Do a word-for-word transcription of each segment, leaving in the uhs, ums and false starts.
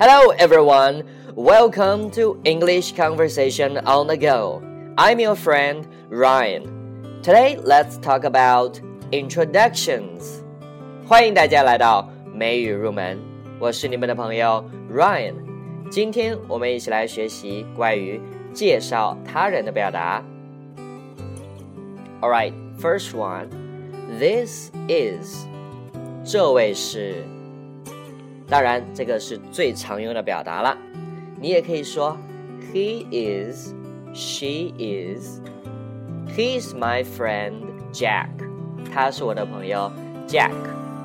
Hello everyone, welcome to English Conversation on the Go. I'm your friend Ryan. Today let's talk about introductions. 欢迎大家来到美语入门，我是你们的朋友 Ryan。今天我们一起来学习关于介绍他人的表达。Alright, first one, this is. 这位是。当然这个是最常用的表达了，你也可以说 He is, she is. He's my friend Jack. 他是我的朋友 Jack.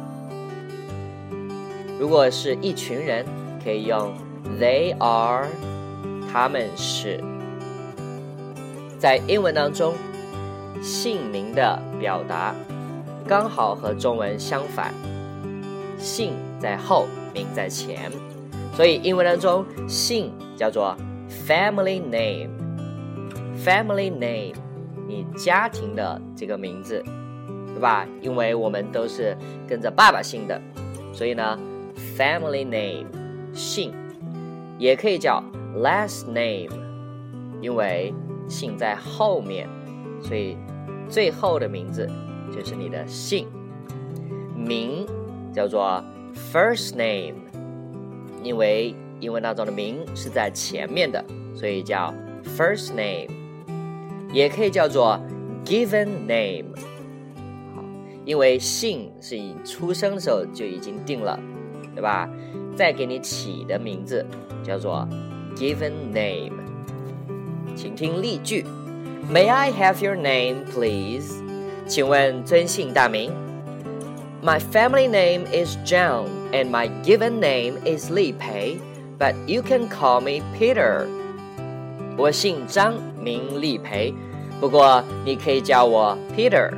如果是一群人，可以用 They are, 他们是。在英文当中，姓名的表达刚好和中文相反，姓在后，名在前，所以英文当中姓叫做 family name. Family name 你家庭的这个名字，对吧？因为我们都是跟着爸爸姓的，所以呢 family name 姓也可以叫 last name， 因为姓在后面，所以最后的名字就是你的姓。名叫做First name， 因为英文当中的名是在前面的，所以叫 first name， 也可以叫做 given name。 好，因为姓是你出生的时候就已经定了，对吧？再给你起的名字叫做 given name。 请听例句 May I have your name, please？ 请问尊姓大名？My family name is John, and my given name is Li Pei, but you can call me Peter. 我姓张，名李培，不过你可以叫我 Peter。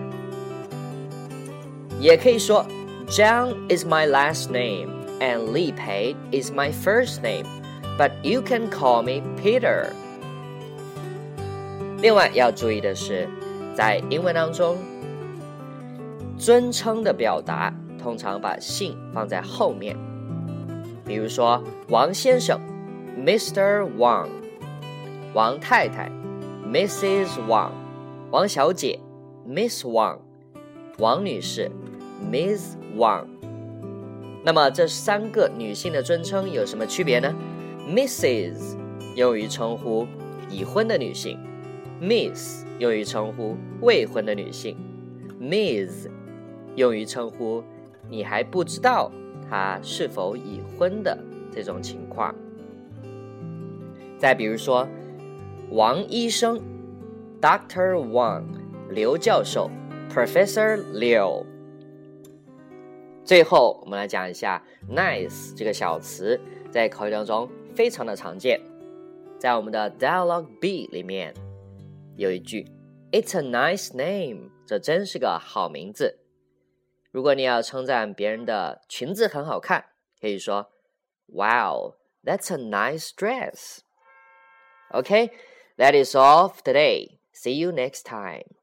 也可以说 John is my last name, and Li Pei is my first name, but you can call me Peter. 另外要注意的是，在英文当中，尊称的表达通常把姓放在后面，比如说王先生 Mister Wang， 王太太 Missus Wang， 王小姐 Miss Wang， 王女士 Miss Wang。 那么这三个女性的尊称有什么区别呢？ Missus 用于称呼已婚的女性， Miss 用于称呼未婚的女性， Miss用于称呼你还不知道他是否已婚的这种情况。再比如说王医生 Doctor Wang， 刘教授 Professor Liu。 最后我们来讲一下 nice 这个小词，在口语当中非常的常见。在我们的 Dialogue B 里面有一句 It's a nice name， 这真是个好名字。如果你要称赞别人的裙子很好看，可以说 Wow, that's a nice dress. Okay, that is all for today. See you next time.